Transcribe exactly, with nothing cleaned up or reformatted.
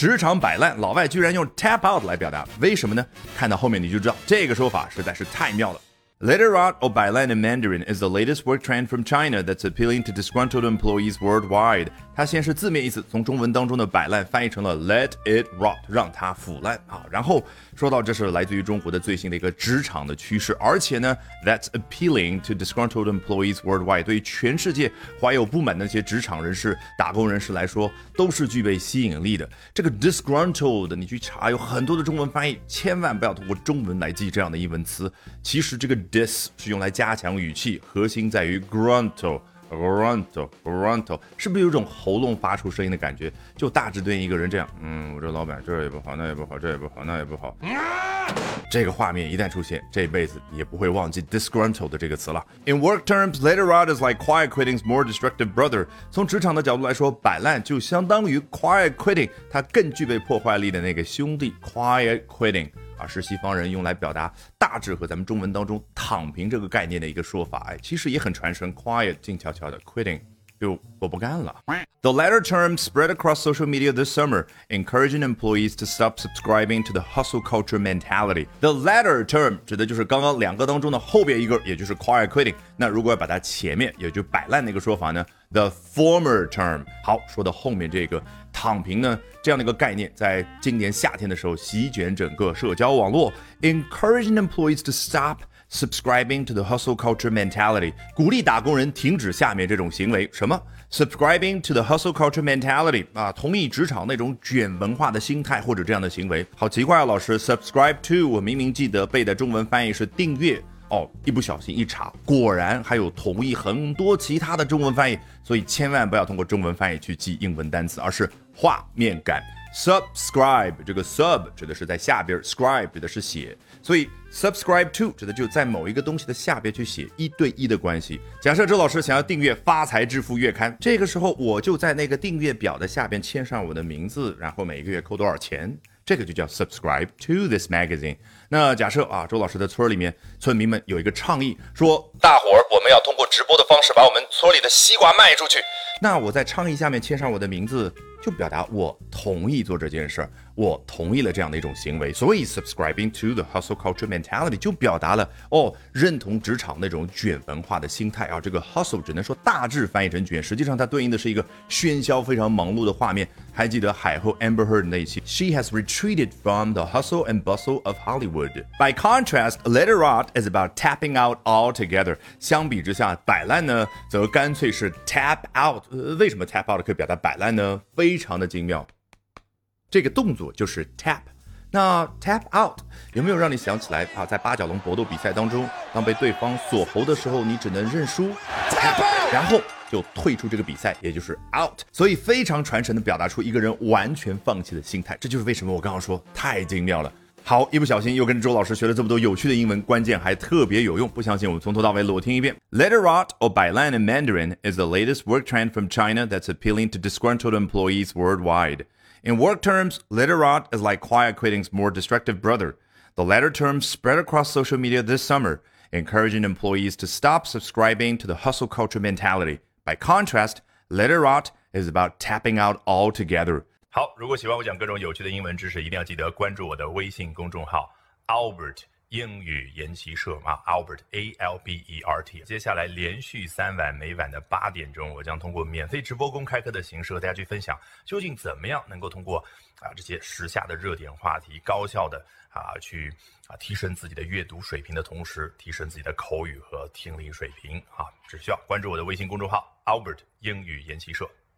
职场摆烂，老外居然用 tap out 来表达，为什么呢？看到后面你就知道，这个说法实在是太妙了。Literate or 摆烂 in Mandarin is the latest work trend from China that's appealing to disgruntled employees worldwide. 它先是字面意思从中文当中的摆烂翻译成了 let it rot， 让它腐烂啊。然后说到这是来自于中国的最新的一个职场的趋势，而且呢 that's appealing to disgruntled employees worldwide， 对于全世界怀有不满的那些职场人士、打工人士来说都是具备吸引力的。这个 disgruntled 你去查有很多的中文翻译，千万不要通过中文来记这样的英文词。其实这个 dis 是用来加强语气，核心在于 gruntle。gruntle gruntle 是不是有种喉咙发出声音的感觉？就大致对应一个人这样，嗯，我这老板这也不好，那也不好，这也不好，那也不好。这个画面一旦出现，这辈子也不会忘记 disgruntled 的这个词了。In work terms, literate is like quiet quitting's more destructive brother。从职场的角度来说，摆烂就相当于 quiet quitting， 它更具备破坏力的那个兄弟 quiet quitting。啊，是西方人用来表达大致和咱们中文当中躺平这个概念的一个说法，哎，其实也很传神 quiet 静悄悄的 quitting 就我不干了。The latter term spread across social media this summer, encouraging employees to stop subscribing to the hustle culture mentality. The latter term 指的就是刚刚两个当中的后边一个，也就是 quiet quitting。那如果要把它前面也就摆烂那个说法呢 ，the former term。好，说到后面这个躺平呢，这样的一个概念，在今年夏天的时候席卷整个社交网络 ，encouraging employees to stop subscribing to the hustle culture mentality， 鼓励打工人停止下面这种行为。什么 ？subscribing to the hustle culture mentality 啊，同意职场那种卷文化的心态或者这样的行为。好奇怪啊，老师 ，subscribe to 我明明记得背的中文翻译是订阅。哦，一不小心一查，果然还有同意很多其他的中文翻译，所以千万不要通过中文翻译去记英文单词，而是画面感。Subscribe 这个 sub 指的是在下边 ，scribe 指的是写，所以 subscribe to 指的就在某一个东西的下边去写一对一的关系。假设周老师想要订阅《发财致富月刊》，这个时候我就在那个订阅表的下边签上我的名字，然后每个月扣多少钱。这个就叫 subscribe to this magazine。那假设啊，周老师的村里面村民们有一个倡议，说大伙儿我们要通过直播的方式把我们村里的西瓜卖出去。那我在倡议下面签上我的名字，就表达我同意做这件事，我同意了这样的一种行为。所以 subscribing to the hustle culture mentality 就表达了哦，认同职场那种卷文化的心态啊。这个 hustle 只能说大致翻译成卷，实际上它对应的是一个喧嚣非常忙碌的画面。还记得海后 Amber Heard 那一期 She has retreated from the hustle and bustle of Hollywood. By contrast, literate is about tapping out altogether. 相比之下，摆烂呢则干脆是 tap out。呃，为什么 tap out 可以表达摆烂呢？非常的精妙。这个动作就是 tap。那 tap out 有没有让你想起来啊？在八角笼搏斗比赛当中，当被对方锁喉的时候，你只能认输 tap out， 然后就退出这个比赛，也就是 out。所以非常传神的表达出一个人完全放弃的心态，这就是为什么我刚刚说太精妙了。好，一不小心又跟周老师学了这么多有趣的英文，关键还特别有用。不相信我们从头到尾裸听一遍。Literate or 摆烂 in Mandarin is the latest work trend from China that's appealing to disgruntled employees worldwide. In work terms, literate is like quiet quitting's more destructive brother. The latter term spread across social media this summer, encouraging employees to stop subscribing to the hustle culture mentality. By contrast, literate is about tapping out altogether. 好，如果喜欢我讲各种有趣的英文知识，一定要记得关注我的微信公众号 Albert 英语研习社啊 ，Albert A L B E R T。接下来连续三晚，每晚的八点钟，我将通过免费直播公开课的形式和大家去分享，究竟怎么样能够通过啊这些时下的热点话题，高效的啊去啊提升自己的阅读水平的同时，提升自己的口语和听力水平啊，只需要关注我的微信公众号 Albert 英语研习社。